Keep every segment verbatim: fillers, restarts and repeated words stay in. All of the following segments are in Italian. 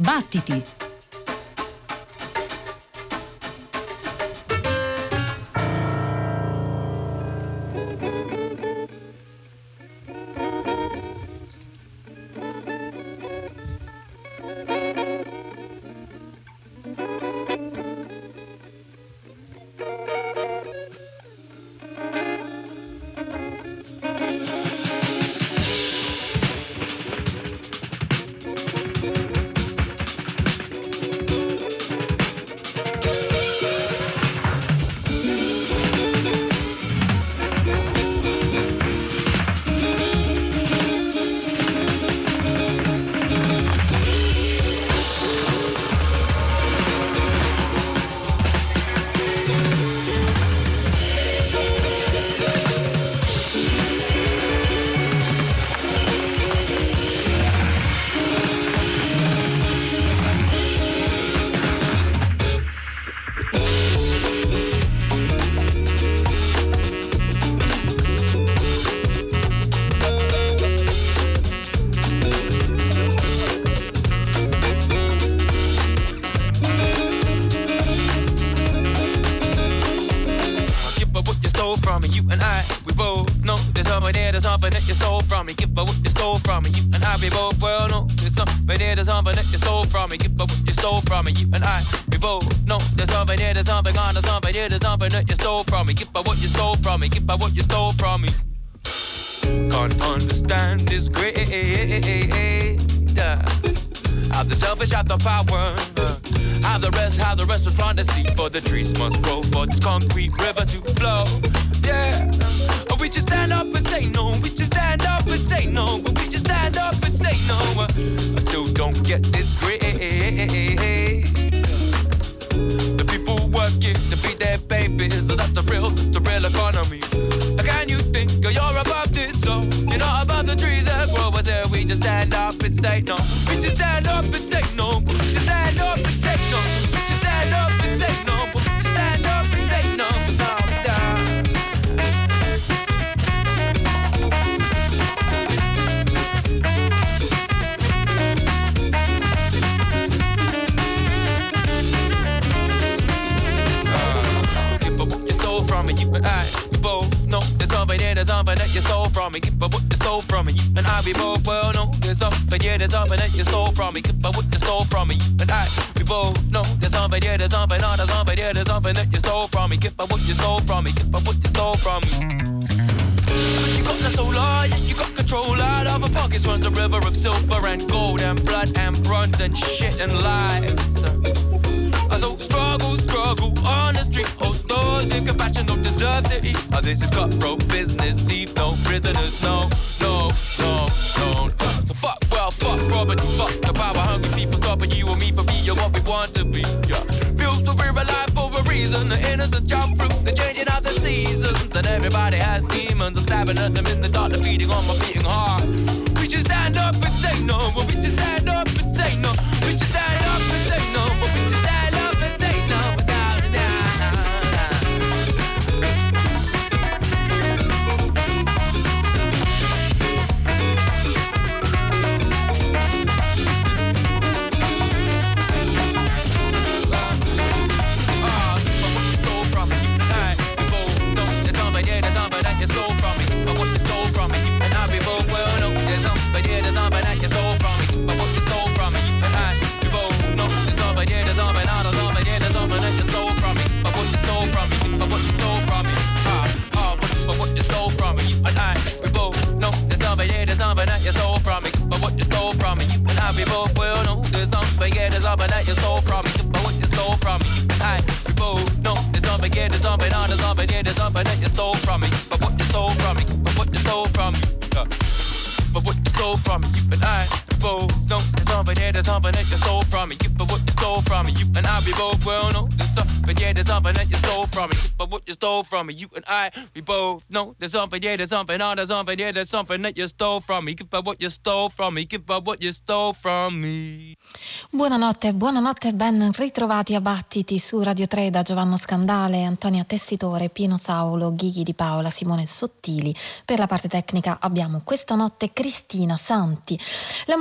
Battiti! You and I, we both know there's something, yeah, there's something, oh, there's something, yeah, there's something that you stole from me. Give back what you stole from me, give back what you stole from me. Buonanotte, buonanotte, ben ritrovati a Battiti su Radio tre da Giovanna Scandale, Antonia Tessitore, Pino Saulo, Ghighi Di Paola, Simone Sottili. Per la parte tecnica abbiamo questa notte Cristina Santi. La musica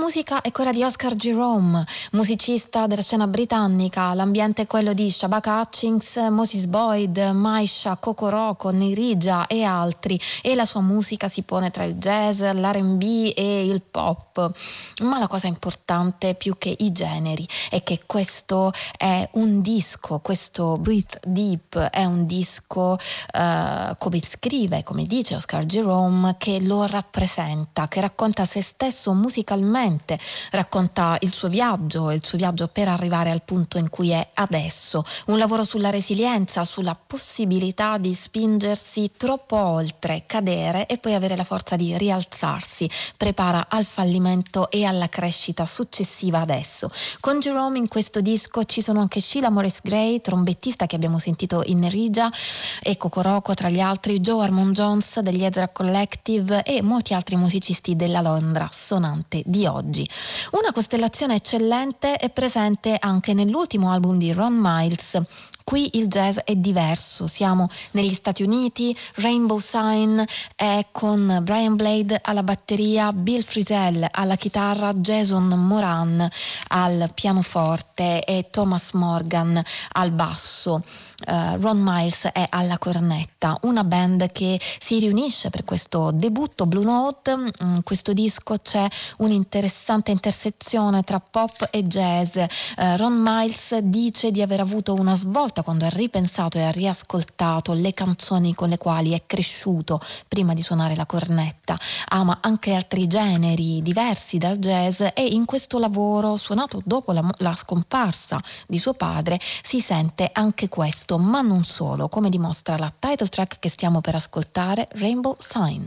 musica è quella di Oscar Jerome, musicista della scena britannica. L'ambiente è quello di Shabaka Hutchings, Moses Boyd, Maisha, Kokoroko, Nirija e altri, e la sua musica si pone tra il jazz, l'R and B e il pop. Ma la cosa importante, più che i generi, è che questo è un disco, questo Breathe Deep è un disco, eh, come scrive, come dice Oscar Jerome, che lo rappresenta, che racconta se stesso musicalmente, racconta il suo viaggio, il suo viaggio per arrivare al punto in cui è adesso. Un lavoro sulla resilienza, sulla possibilità di spingersi troppo oltre, cadere e poi avere la forza di rialzarsi. Prepara al fallimento e alla crescita successiva adesso. Con Jerome in questo disco ci sono anche Sheila Morris Gray, trombettista che abbiamo sentito in Nirija, e Kokoroko tra gli altri, Joe Harmon Jones degli Ezra Collective e molti altri musicisti della Londra sonante di oggi. Una costellazione eccellente è presente anche nell'ultimo album di Ron Miles. Qui il jazz è diverso, siamo negli Stati Uniti. Rainbow Sign è con Brian Blade alla batteria, Bill Frisell alla chitarra, Jason Moran al pianoforte e Thomas Morgan al basso. Uh, Ron Miles è alla cornetta, una band che si riunisce per questo debutto Blue Note. In questo disco c'è un'interessante intersezione tra pop e jazz. uh, Ron Miles dice di aver avuto una svolta quando ha ripensato e ha riascoltato le canzoni con le quali è cresciuto prima di suonare la cornetta. Ama anche altri generi diversi dal jazz e in questo lavoro, suonato dopo la, la scomparsa di suo padre, si sente anche questo, ma non solo, come dimostra la title track che stiamo per ascoltare, Rainbow Sign.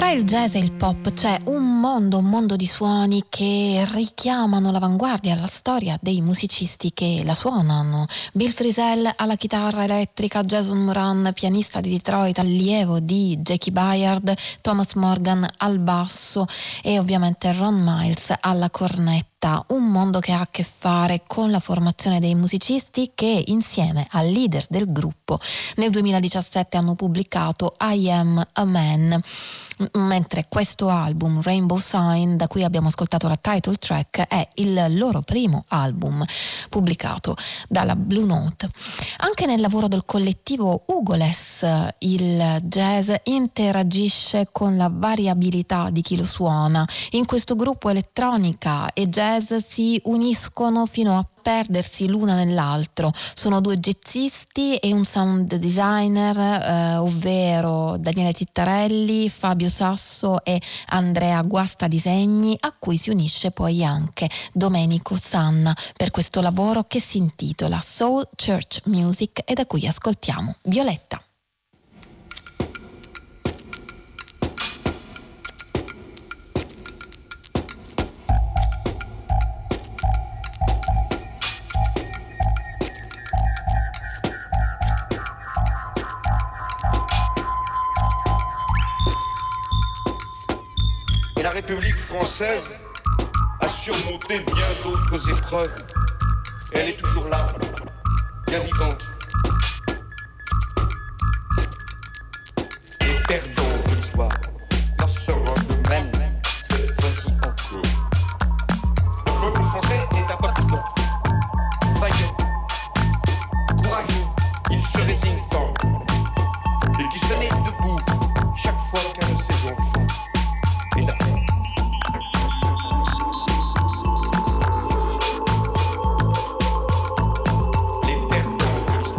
Tra il jazz e il pop c'è un mondo, un mondo di suoni che richiamano l'avanguardia, la storia dei musicisti che la suonano. Bill Frisell alla chitarra elettrica, Jason Moran, pianista di Detroit, allievo di Jackie Byard, Thomas Morgan al basso e ovviamente Ron Miles alla cornetta. Un mondo che ha a che fare con la formazione dei musicisti che insieme al leader del gruppo nel duemiladiciassette hanno pubblicato I Am a Man, mentre questo album Rainbow Sign, da cui abbiamo ascoltato la title track, è il loro primo album pubblicato dalla Blue Note. Anche nel lavoro del collettivo Hugoless il jazz interagisce con la variabilità di chi lo suona. In questo gruppo elettronica e jazz si uniscono fino a perdersi l'una nell'altro. Sono due jazzisti e un sound designer, eh, ovvero Daniele Tittarelli, Fabio Sasso e Andrea Guasta Disegni, a cui si unisce poi anche Domenico Sanna per questo lavoro che si intitola Soul Church Music e da cui ascoltiamo Violetta. La République française a surmonté bien d'autres épreuves. Et elle est toujours là, bien vivante. Les perdants de l'histoire n'en seront de même cette fois-ci encore. Le peuple français est un peuple fort, vaillant, courageux. Il se résigne tant et qui se met debout chaque fois qu'un de ses enfants est atteint. Les perdants de l'histoire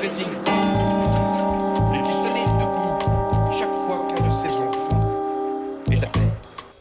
Brésil, et qui se lève debout chaque fois qu'un de ses enfants est à terre.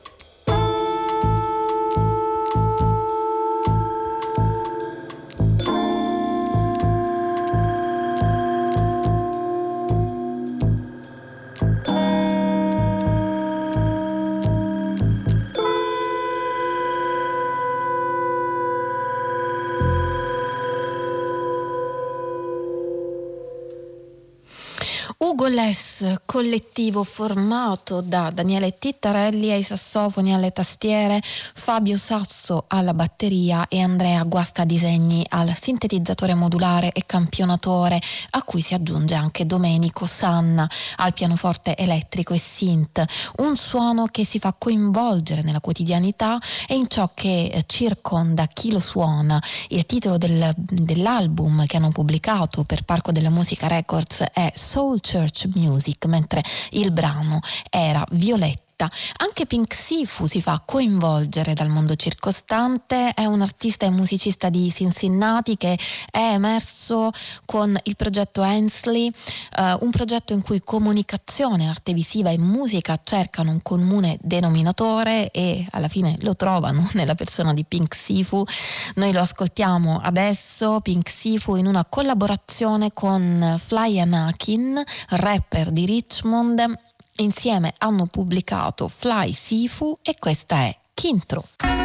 Ugoless, collettivo formato da Daniele Tittarelli ai sassofoni, alle tastiere, Fabio Sasso alla batteria e Andrea Guastadisegni al sintetizzatore modulare e campionatore, a cui si aggiunge anche Domenico Sanna al pianoforte elettrico e synth. Un suono che si fa coinvolgere nella quotidianità e in ciò che circonda chi lo suona. Il titolo del, dell'album che hanno pubblicato per Parco della Musica Records è Soul Church Music, mentre il brano era Violetta. Anche Pink Sifu si fa coinvolgere dal mondo circostante, è un artista e musicista di Cincinnati che è emerso con il progetto Hensley, eh, un progetto in cui comunicazione, arte visiva e musica cercano un comune denominatore e alla fine lo trovano nella persona di Pink Sifu. Noi lo ascoltiamo adesso, Pink Sifu, in una collaborazione con Fly Anakin, rapper di Richmond. Insieme hanno pubblicato Fly Sifu e questa è Kintro.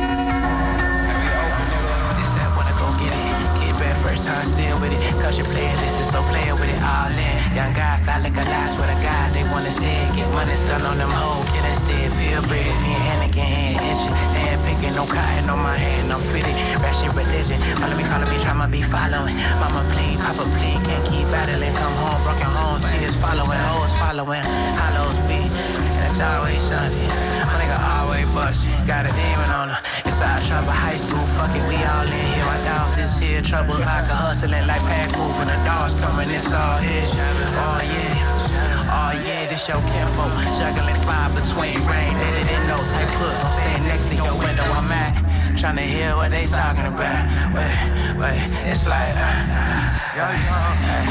No cotton on my hand, I'm fitted. Ratchet religion. Follow me, follow me, try my be following. Mama, please, Papa, please, can't keep battling. Come home, broken home, tears following, hoes following. Hollows beat, that's always Sunday. My nigga always bustin', got a demon on her. Inside trouble, high school, fuck it, we all in here. My dogs is here, trouble like a hustling, like pack moving. The dogs coming, it's all here. Oh yeah. Oh yeah, this your kinfolk, juggling fire between rain, they didn't know, type put, I'm staying next to your window, I'm at, trying to hear what they talking about, wait, wait, it's like, uh, uh, uh,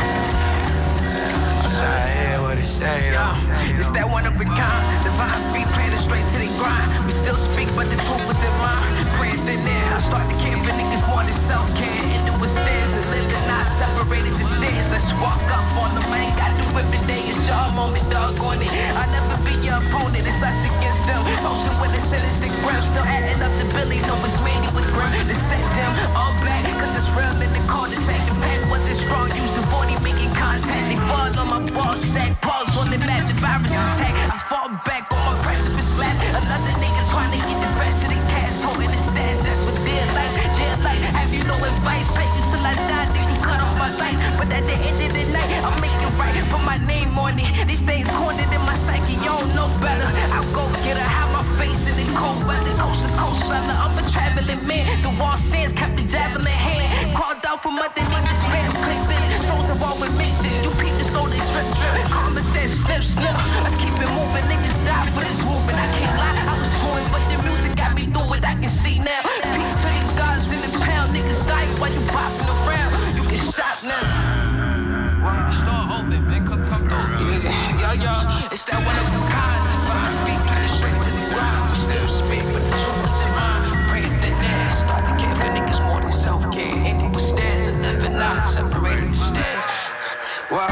I'm trying to hear what they say though. It's that one of a kind, divine feet planted straight to the grind, we still speak but the truth was in mind, praying thin air, I start to care for niggas more than self-care, into a stairs and living not separated the stairs, let's walk up on the man, gotta do every day, it's your moment, dog on it. I'll never be your opponent, it's us against them. Posted with a cynistic grim, still adding up the Billy, no it's Randy with grim. To set them all black, cause it's real in the corner. Say the pack wasn't strong, used the forty making contact. They fall on my ball sack, balls on the map, the virus attack. I fall back on my precipice slap. Another nigga trying to get the best of the cash, holding the stats, that's for dear life, dear life. Have you no advice, pay you till I die, then you cut off my lights. But at the end of the night, I'll make it right, put my name on it. These things cornered in my psyche, you don't know better. I'll go get her, have my face in the cold weather, coast to coast fella. I'm a traveling man, the wall sands kept the javelin hand. Crawled out from underneath the spinal clip this. Souls are all with mixing, you peep the stolen drip drip. Karma says snip snip, let's keep it moving. Niggas die for this movement, I can't lie, I was ruined, but the music got me through it, I can see now. Peace to these guys in the pound, niggas dying while you popping around. You get shot now. Start open, man, come, come through. Yo, yo, it's that one of a kind. Divine feet, get it straight to the ground. We still speak, but the truth is in mind. Praying that they start to care for niggas more than self-care. Ain't no stairs and living out, separated the stairs. Wow.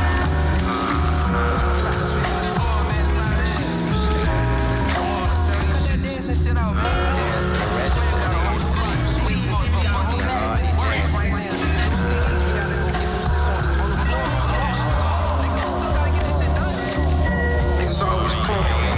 Shit out, man. Always playing.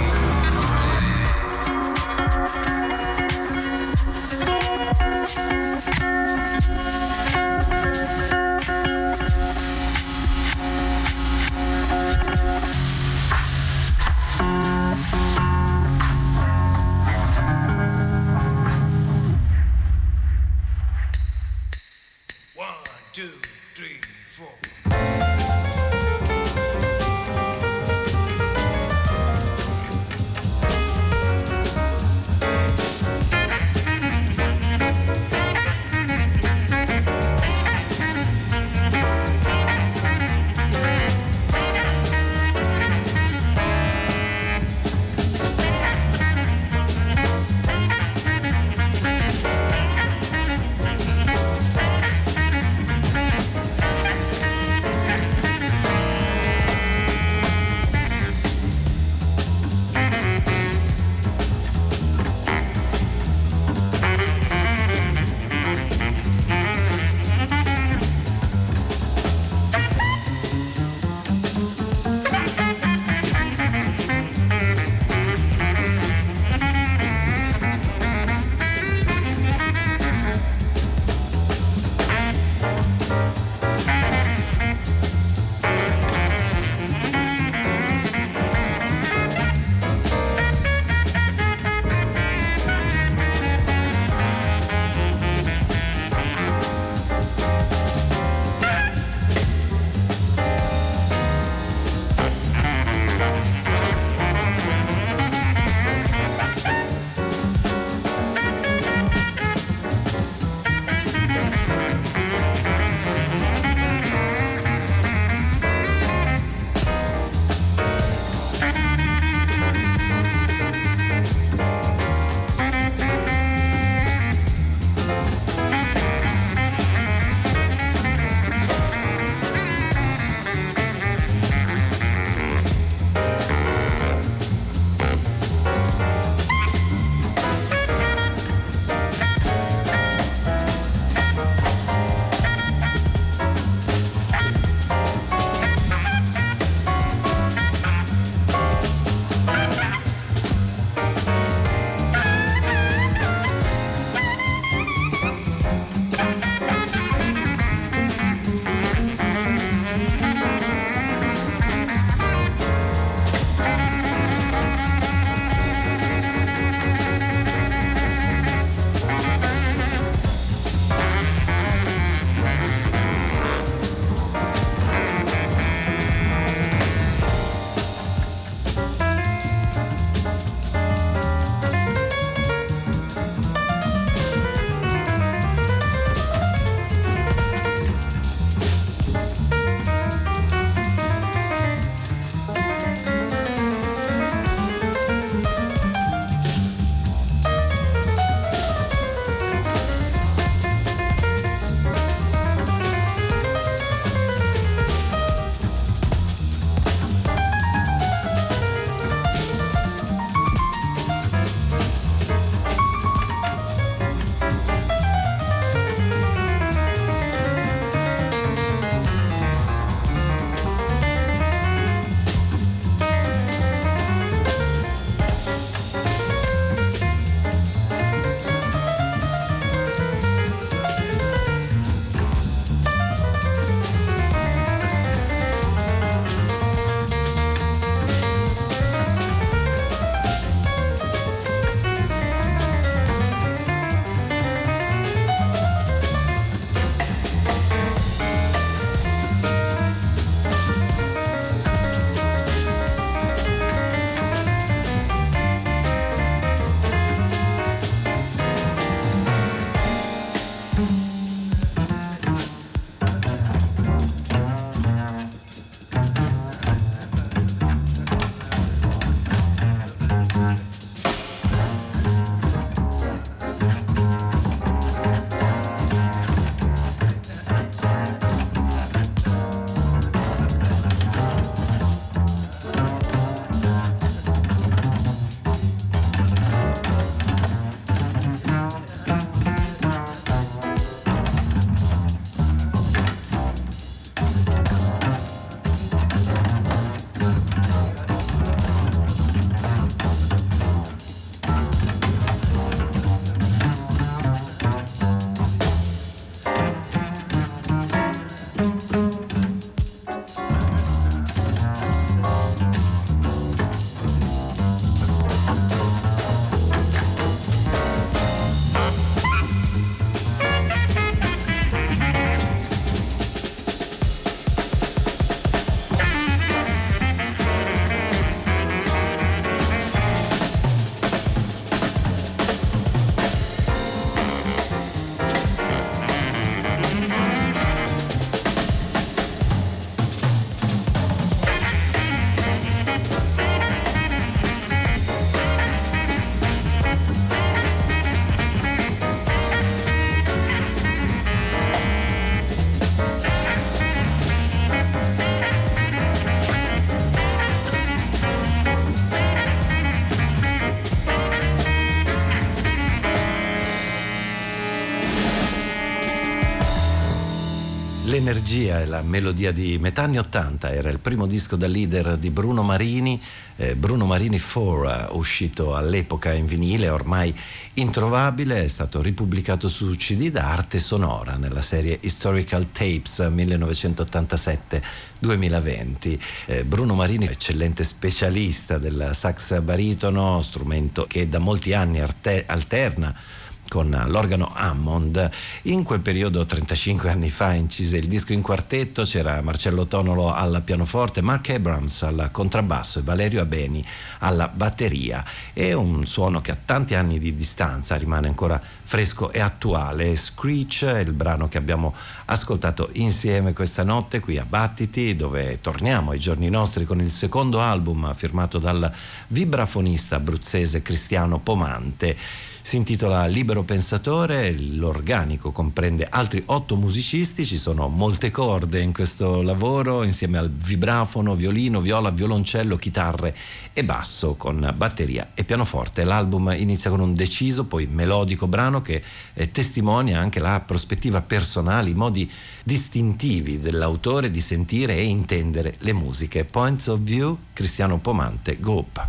l'energia e la melodia di metà anni ottanta. Era il primo disco da leader di Bruno Marini, eh, Bruno Marini quattro, uscito all'epoca in vinile, ormai introvabile, è stato ripubblicato su C D da Arte Sonora nella serie Historical Tapes millenovecentottantasette duemilaventi. Eh, Bruno Marini, eccellente specialista del sax baritono, strumento che da molti anni arte- alterna con l'organo Hammond. In quel periodo, trentacinque anni fa, incise il disco in quartetto. C'era Marcello Tonolo al pianoforte, Mark Abrams al contrabbasso e Valerio Abeni alla batteria. È un suono che a tanti anni di distanza rimane ancora fresco e attuale. Screech è il brano che abbiamo ascoltato insieme questa notte qui a Battiti, dove torniamo ai giorni nostri con il secondo album firmato dal vibrafonista abruzzese Cristiano Pomante. Si intitola Libero Pensatore, l'organico comprende altri otto musicisti, ci sono molte corde in questo lavoro, insieme al vibrafono, violino, viola, violoncello, chitarre e basso con batteria e pianoforte. L'album inizia con un deciso, poi melodico brano che eh, testimonia anche la prospettiva personale, i modi distintivi dell'autore di sentire e intendere le musiche. Points of View, Cristiano Pomante, Group.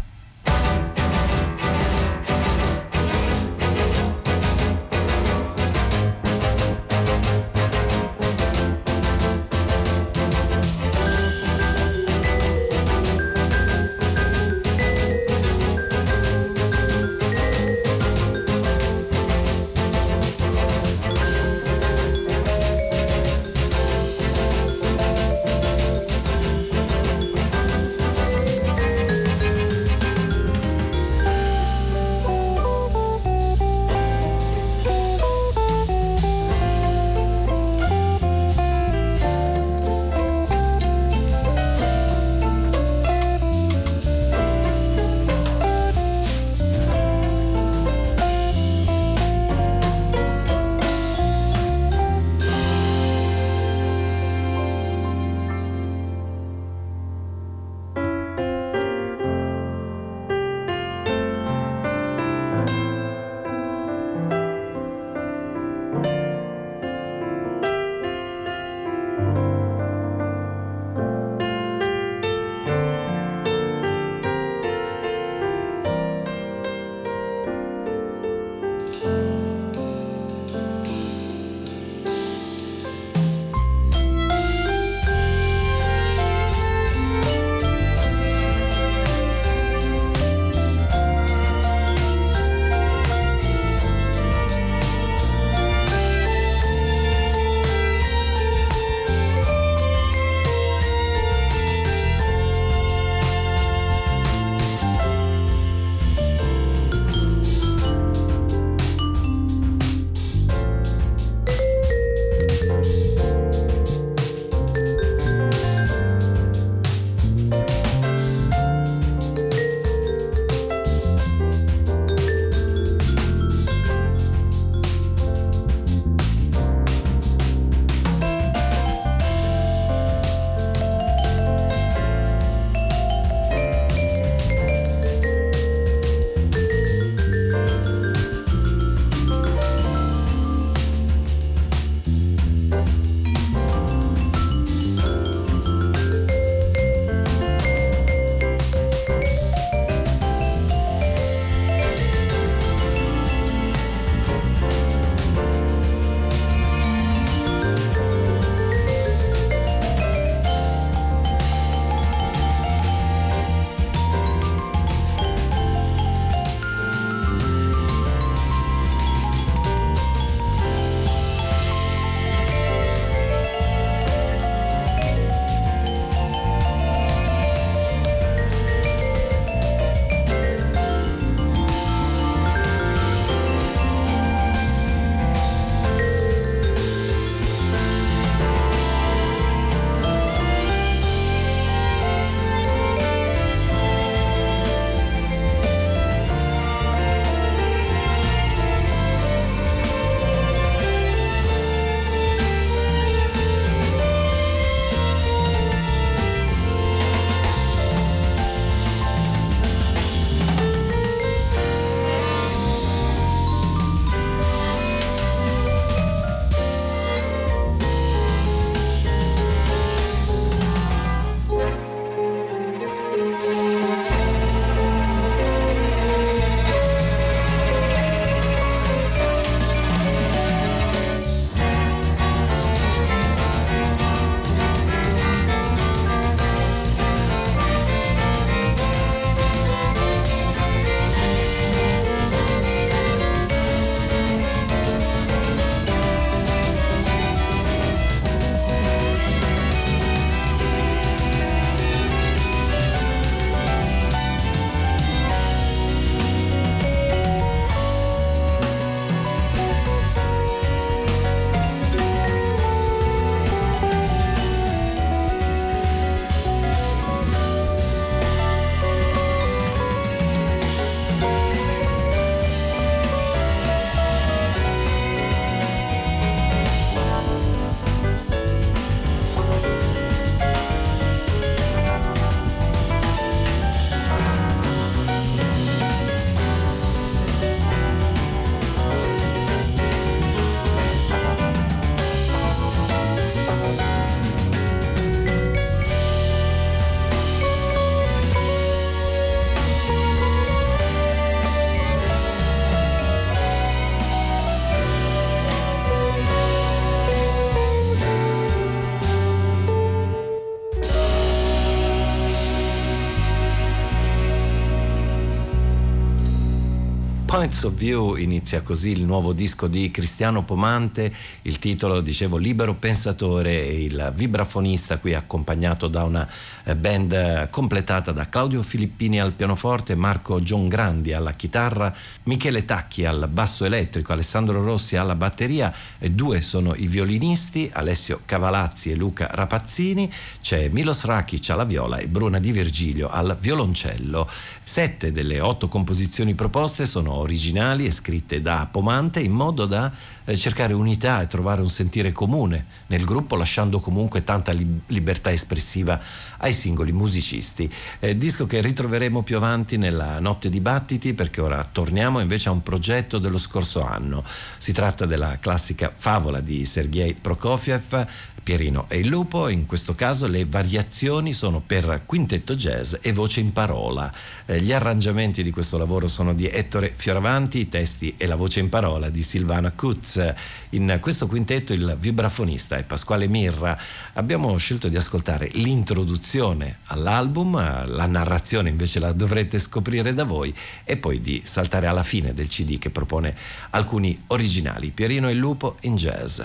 Points of View inizia così il nuovo disco di Cristiano Pomante, il titolo, dicevo, Libero Pensatore, e il vibrafonista qui accompagnato da una band completata da Claudio Filippini al pianoforte, Marco Giangrandi alla chitarra, Michele Tacchi al basso elettrico, Alessandro Rossi alla batteria, e due sono i violinisti, Alessio Cavalazzi e Luca Rapazzini, c'è Milos Rakic alla viola e Bruna Di Virgilio al violoncello. Sette delle otto composizioni proposte sono originali e scritte da Pomante in modo da eh, cercare unità e trovare un sentire comune nel gruppo, lasciando comunque tanta li- libertà espressiva ai singoli musicisti. Eh, disco che ritroveremo più avanti nella Notte di Battiti, perché ora torniamo invece a un progetto dello scorso anno. Si tratta della classica Favola di Sergei Prokofiev, Pierino e il lupo. In questo caso le variazioni sono per quintetto jazz e voce in parola. Eh, gli arrangiamenti di questo lavoro sono di Ettore Fioravanti, i testi e la voce in parola di Silvana Kutz. In questo quintetto il vibrafonista è Pasquale Mirra. Abbiamo scelto di ascoltare l'introduzione all'album, la narrazione invece la dovrete scoprire da voi, e poi di saltare alla fine del C D che propone alcuni originali. Pierino e il lupo in jazz.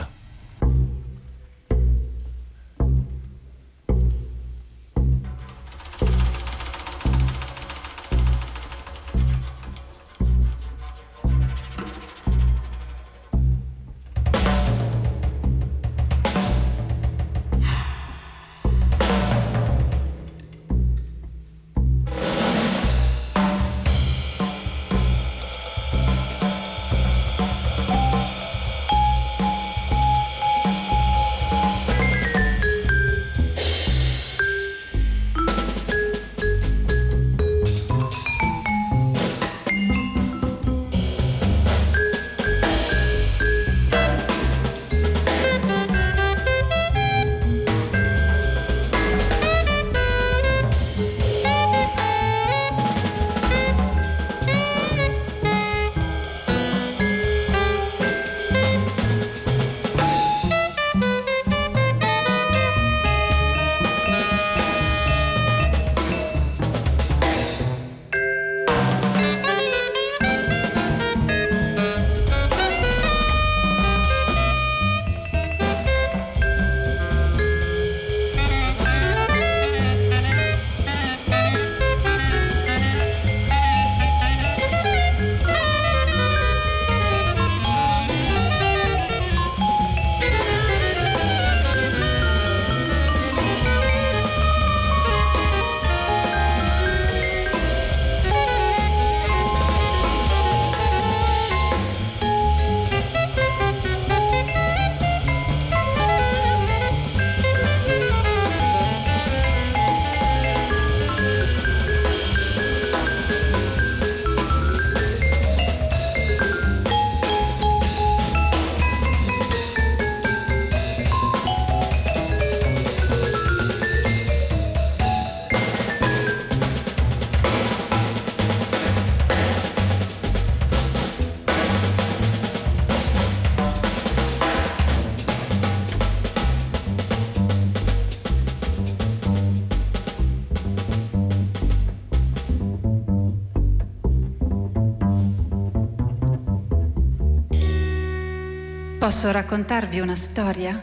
Posso raccontarvi una storia?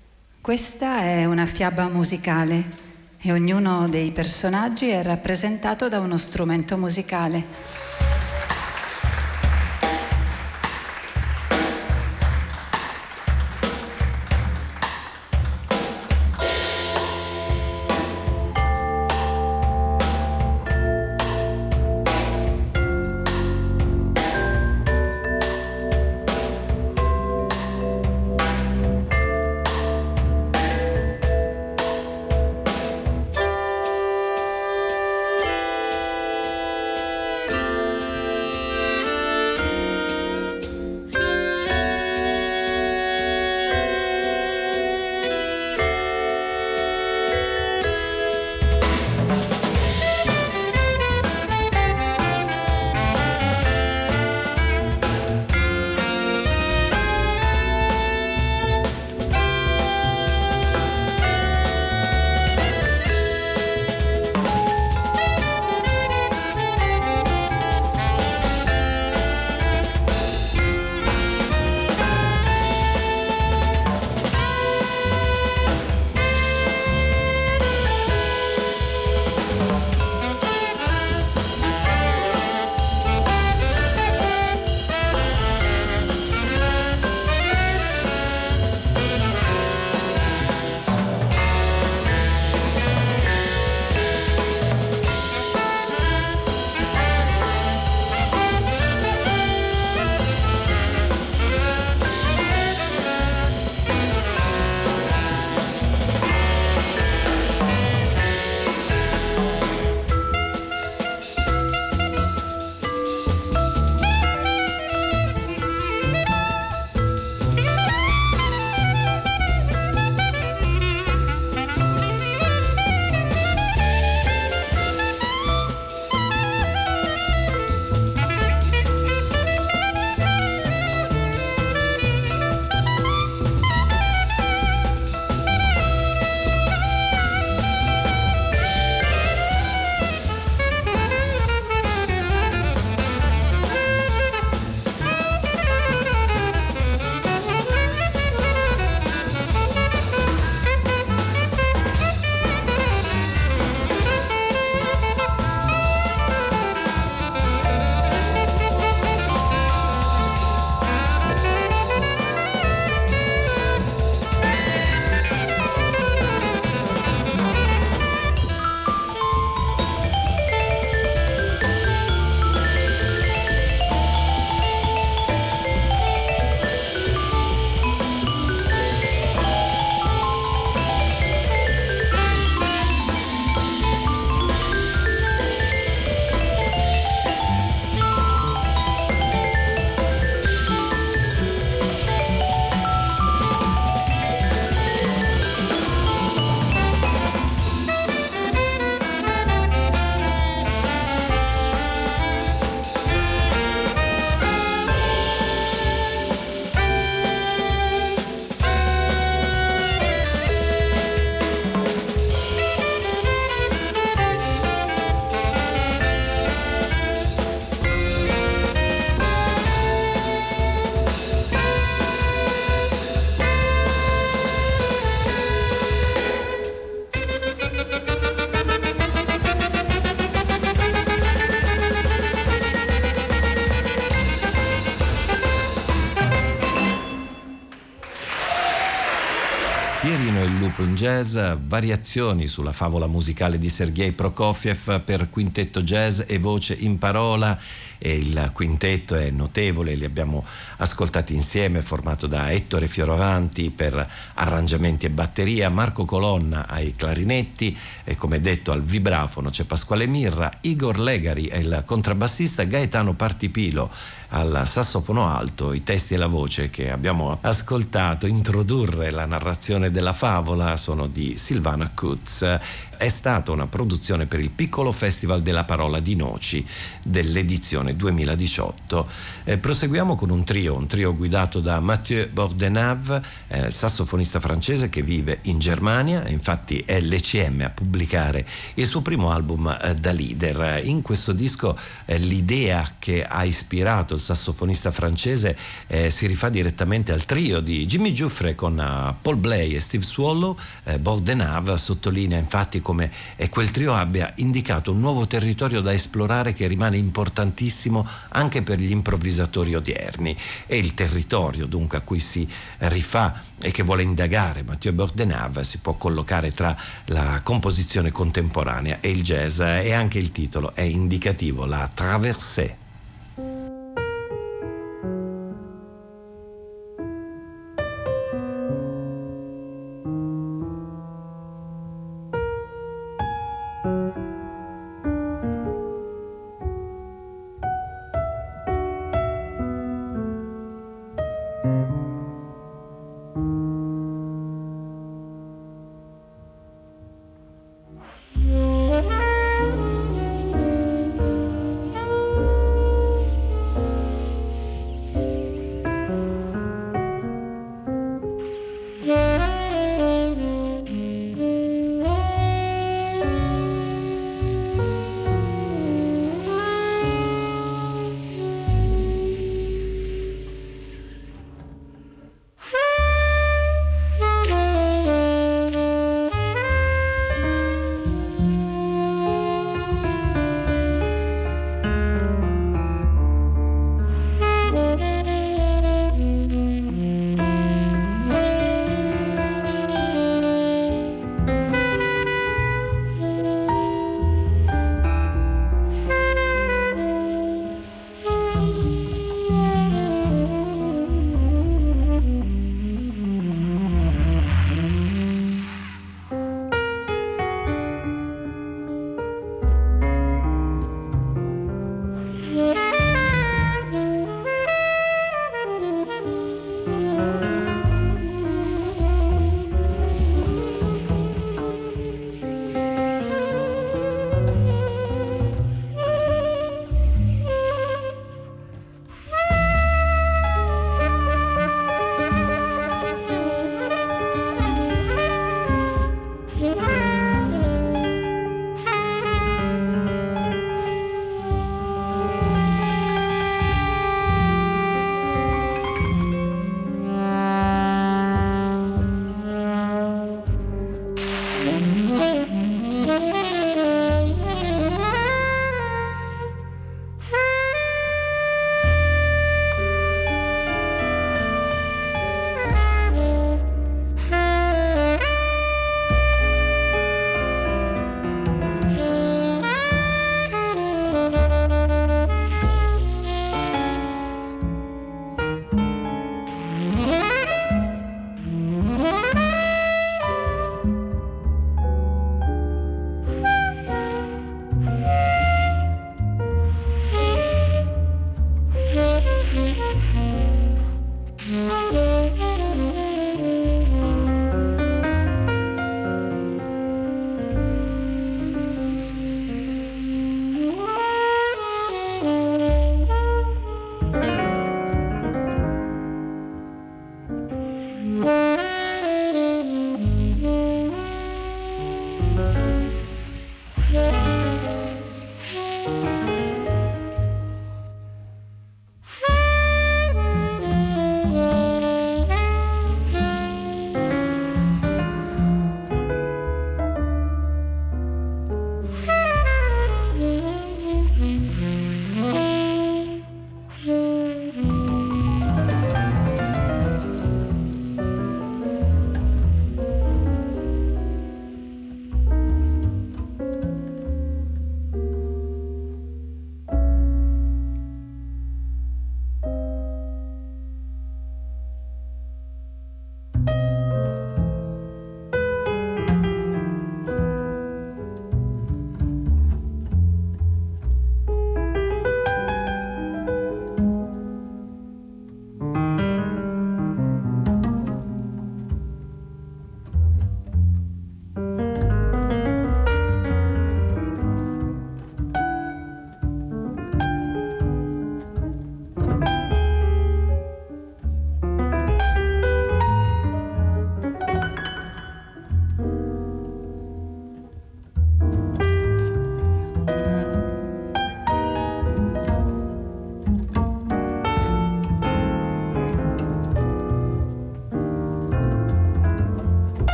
Questa è una fiaba musicale e ognuno dei personaggi è rappresentato da uno strumento musicale. sviluppo in jazz, variazioni sulla favola musicale di Sergei Prokofiev per quintetto jazz e voce in parola, e il quintetto è notevole, li abbiamo ascoltati insieme, formato da Ettore Fioravanti per arrangiamenti e batteria, Marco Colonna ai clarinetti e, come detto, al vibrafono c'è Pasquale Mirra, Igor Legari è il contrabbassista, Gaetano Partipilo al sassofono alto. I testi e la voce che abbiamo ascoltato introdurre la narrazione della favola sono di Silvana Kutz. È stata una produzione per il Piccolo Festival della Parola di Noci dell'edizione duemiladiciotto. Eh, proseguiamo con un trio, un trio guidato da Mathieu Bordenave, eh, sassofonista francese che vive in Germania, infatti è l'E C M a pubblicare il suo primo album eh, da leader. In questo disco eh, l'idea che ha ispirato il sassofonista francese eh, si rifà direttamente al trio di Jimmy Giuffre con uh, Paul Bley e Steve Swallow. eh, Bordenave sottolinea infatti come eh, quel trio abbia indicato un nuovo territorio da esplorare che rimane importantissimo anche per gli improvvisatori odierni, e il territorio dunque a cui si rifà e che vuole indagare Mathieu Bordenave si può collocare tra la composizione contemporanea e il jazz, e anche il titolo è indicativo, la Traversée.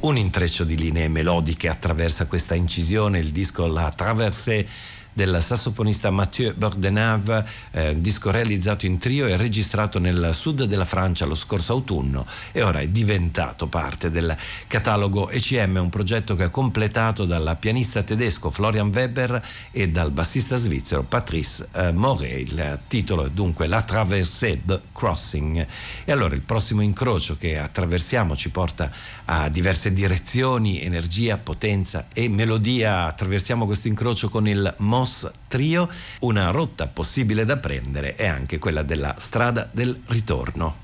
un intreccio di linee melodiche attraversa questa incisione, il disco La Traversée del sassofonista Mathieu Bordenave, eh, un disco realizzato in trio e registrato nel sud della Francia lo scorso autunno e ora è diventato parte del catalogo E C M, un progetto che è completato dal pianista tedesco Florian Weber e dal bassista svizzero Patrice eh, Moret. Il titolo è dunque La Traversée, The Crossing. E allora il prossimo incrocio che attraversiamo ci porta a diverse direzioni, energia, potenza e melodia. Attraversiamo questo incrocio con il Moss Trio. Una rotta possibile da prendere è anche quella della strada del ritorno.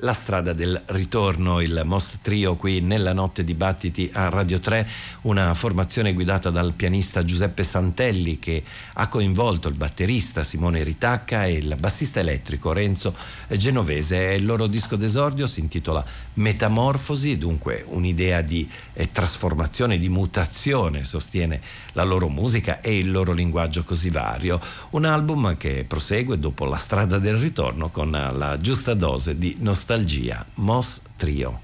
La strada del ritorno, il Mos Trio qui nella Notte di Battiti a Radio tre, una formazione guidata dal pianista Giuseppe Santelli che ha coinvolto il batterista Simone Ritacca e il bassista elettrico Renzo Genovese. Il loro disco d'esordio si intitola Metamorfosi, dunque un'idea di eh, trasformazione, di mutazione sostiene la loro musica e il loro linguaggio così vario. Un album che prosegue dopo La strada del ritorno con la giusta dose di nostalgia. Mos Trio.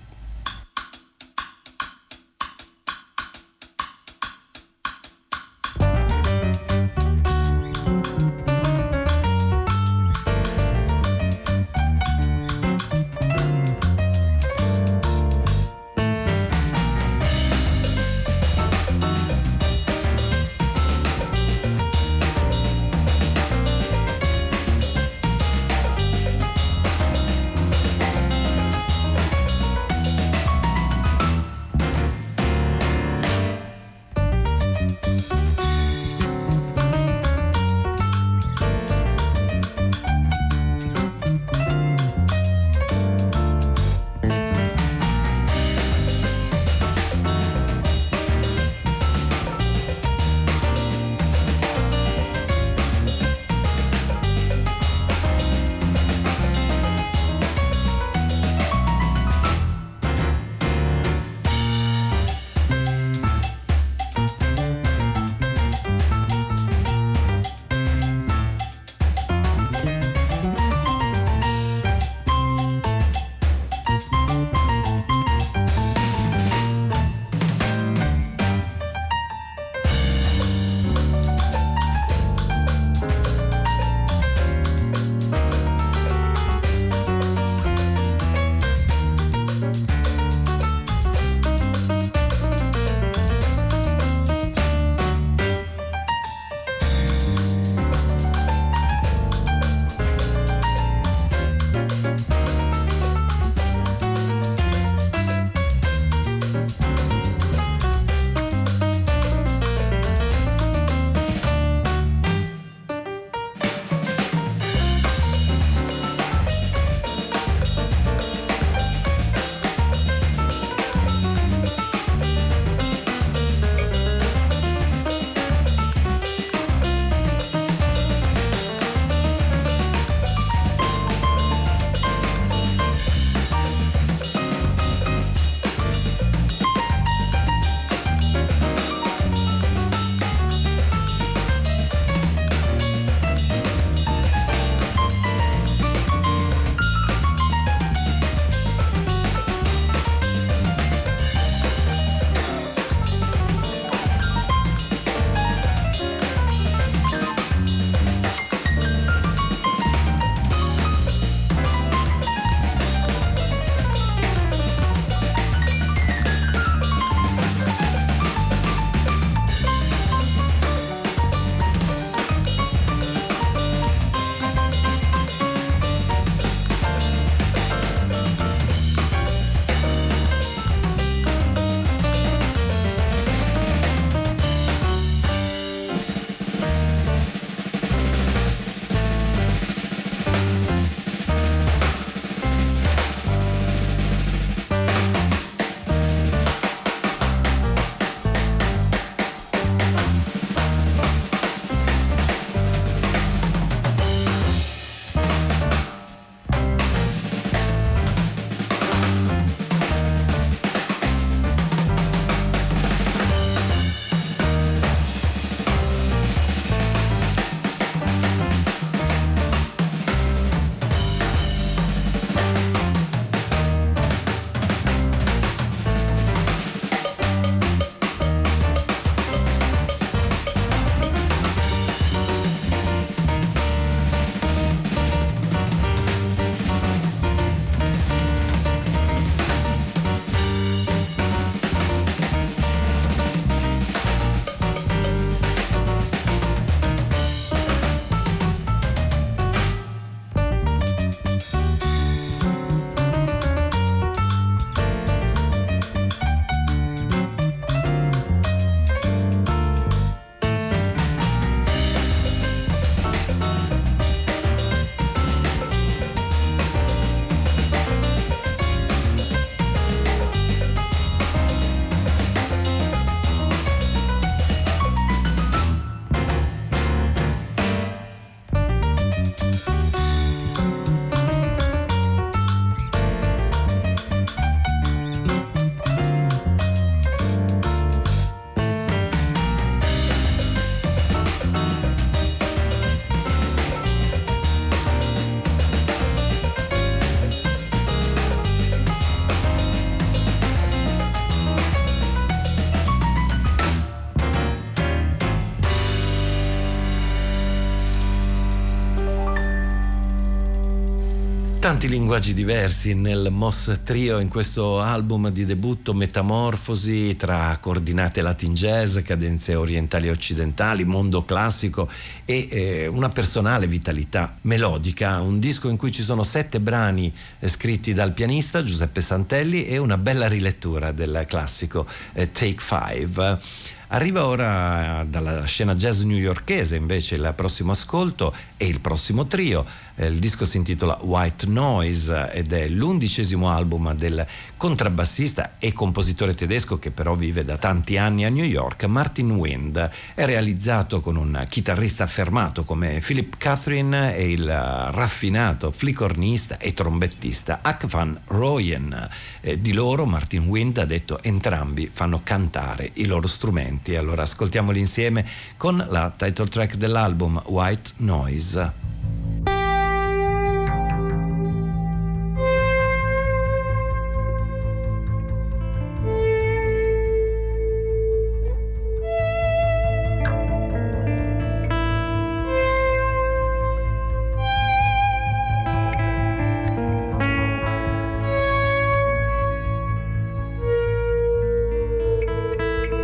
Tanti linguaggi diversi nel Moss Trio in questo album di debutto, metamorfosi tra coordinate latin jazz, cadenze orientali e occidentali, mondo classico e eh, una personale vitalità melodica, un disco in cui ci sono sette brani eh, scritti dal pianista Giuseppe Santelli e una bella rilettura del classico eh, Take Five. Arriva ora dalla scena jazz newyorkese invece il prossimo ascolto e il prossimo trio. Il disco si intitola White Noise ed è l'undicesimo album del contrabbassista e compositore tedesco che però vive da tanti anni a New York, Martin Wind. È realizzato con un chitarrista affermato come Philip Catherine e il raffinato flicornista e trombettista Huck Van Rooyen. Eh, di loro Martin Wind ha detto entrambi fanno cantare i loro strumenti. Allora ascoltiamoli insieme con la title track dell'album White Noise.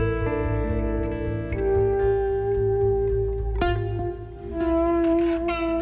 Thank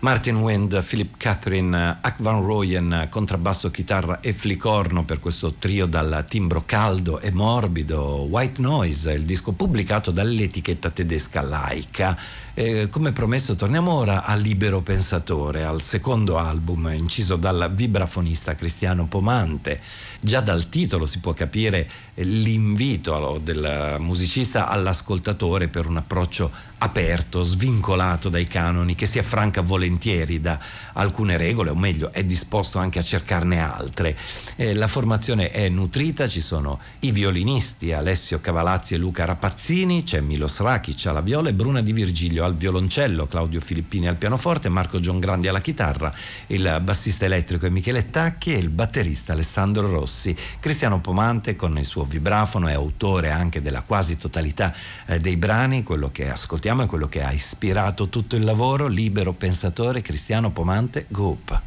Martin Wind, Philip Catherine, Ak van Rooyen, contrabbasso, chitarra e flicorno per questo trio dal timbro caldo e morbido. White Noise, il disco pubblicato dall'etichetta tedesca Laika. Eh, come promesso torniamo ora a Libero Pensatore, al secondo album inciso dal vibrafonista Cristiano Pomante. Già dal titolo si può capire l'invito del musicista all'ascoltatore per un approccio aperto, svincolato dai canoni, che si affranca volentieri da alcune regole, o meglio è disposto anche a cercarne altre. Eh, la formazione è nutrita, ci sono i violinisti Alessio Cavalazzi e Luca Rapazzini, c'è Milos Rakic alla viola e Bruna Di Virgilio al violoncello, Claudio Filippini al pianoforte, Marco Giangrandi alla chitarra, il bassista elettrico è Michele Tacchi e il batterista Alessandro Rossi. Cristiano Pomante con il suo vibrafono è autore anche della quasi totalità eh, dei brani. Quello che ascoltiamo è quello che ha ispirato tutto il lavoro. Libero Pensatore, Cristiano Pomante, Goop.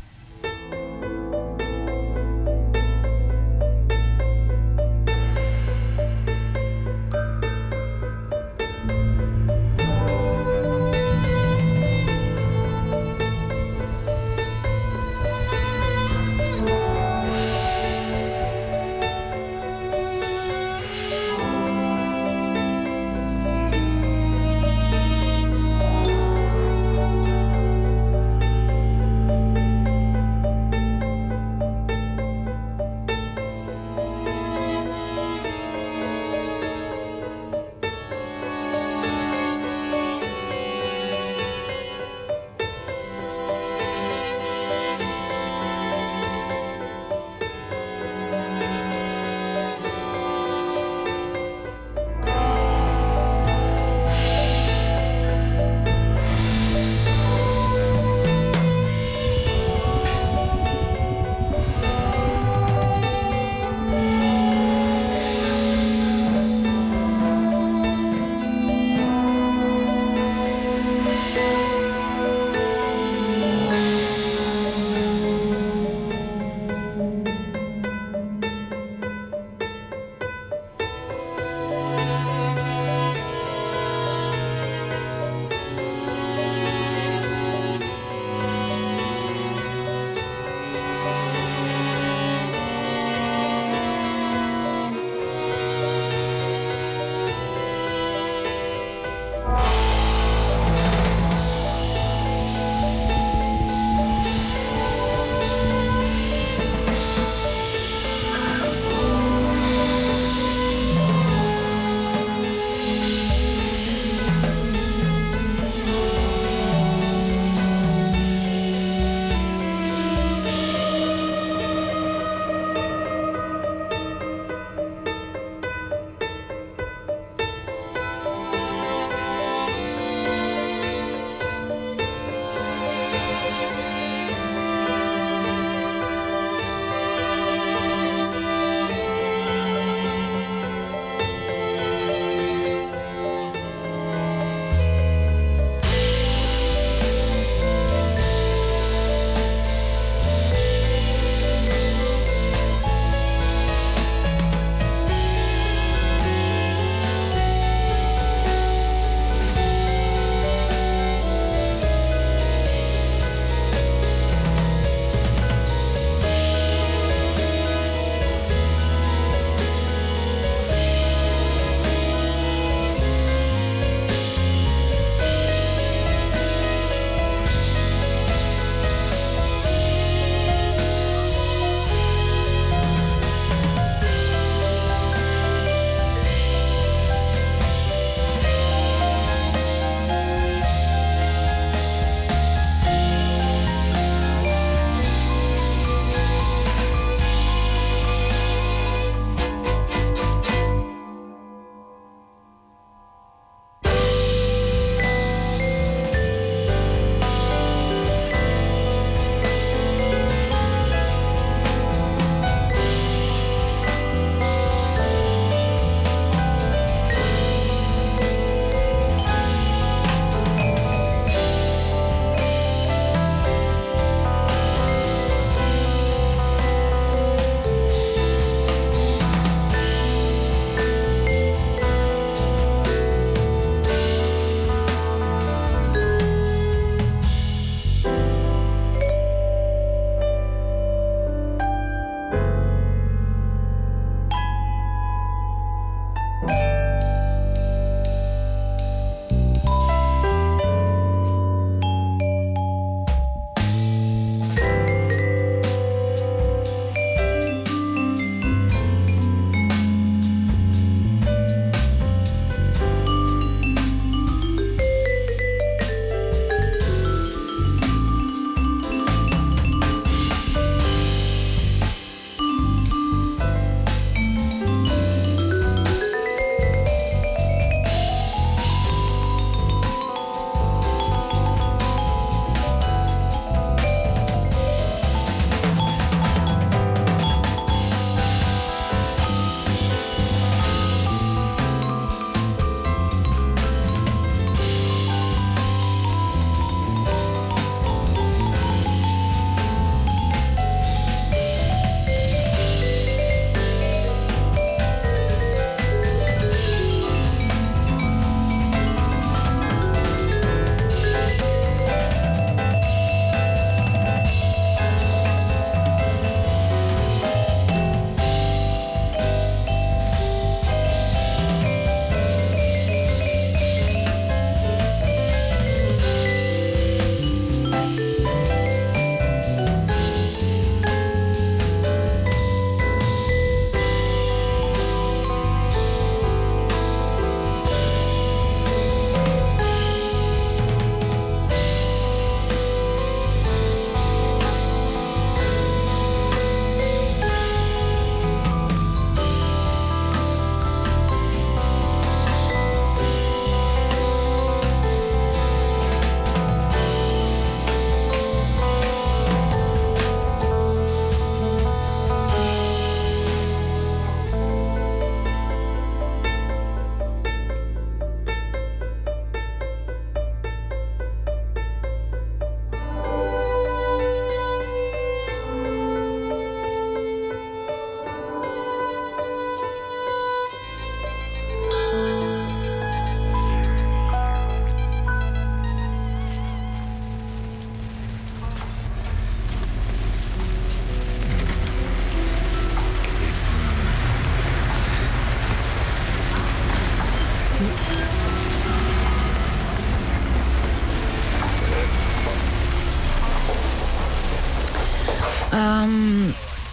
Um,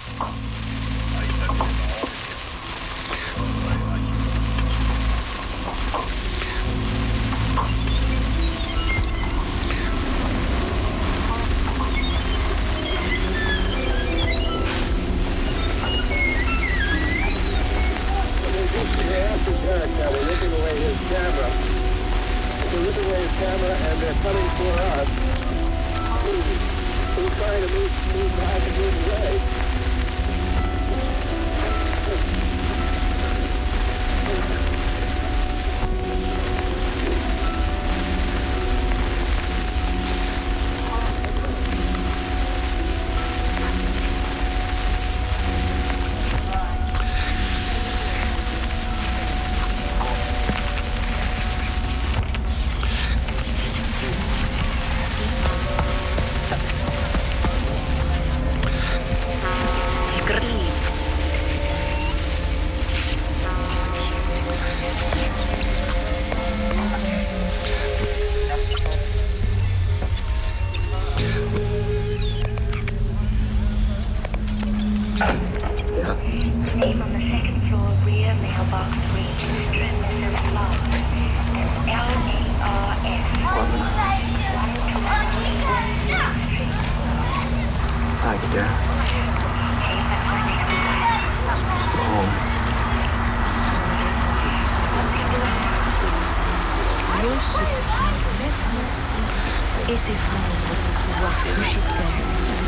et ses flammes pour pouvoir toucher terre.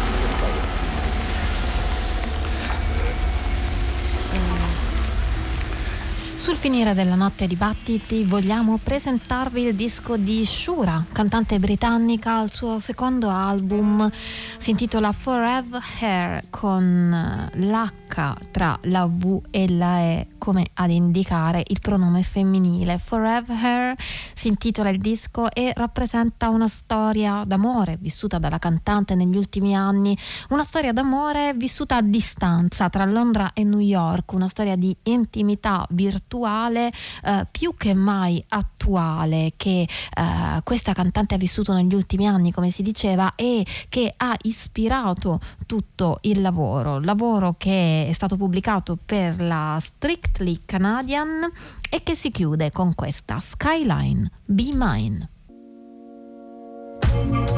Sul finire della notte dibattiti vogliamo presentarvi il disco di Shura, cantante britannica. Il suo secondo album si intitola Forever Hair, con l'H tra la V e la E come ad indicare il pronome femminile. Forever Hair si intitola il disco e rappresenta una storia d'amore vissuta dalla cantante negli ultimi anni, una storia d'amore vissuta a distanza tra Londra e New York, una storia di intimità virtuale eh, più che mai attuale che eh, questa cantante ha vissuto negli ultimi anni, come si diceva, e che ha ispirato tutto il lavoro, lavoro che è stato pubblicato per la Strictly Canadian e che si chiude con questa Skyline, Be Mine.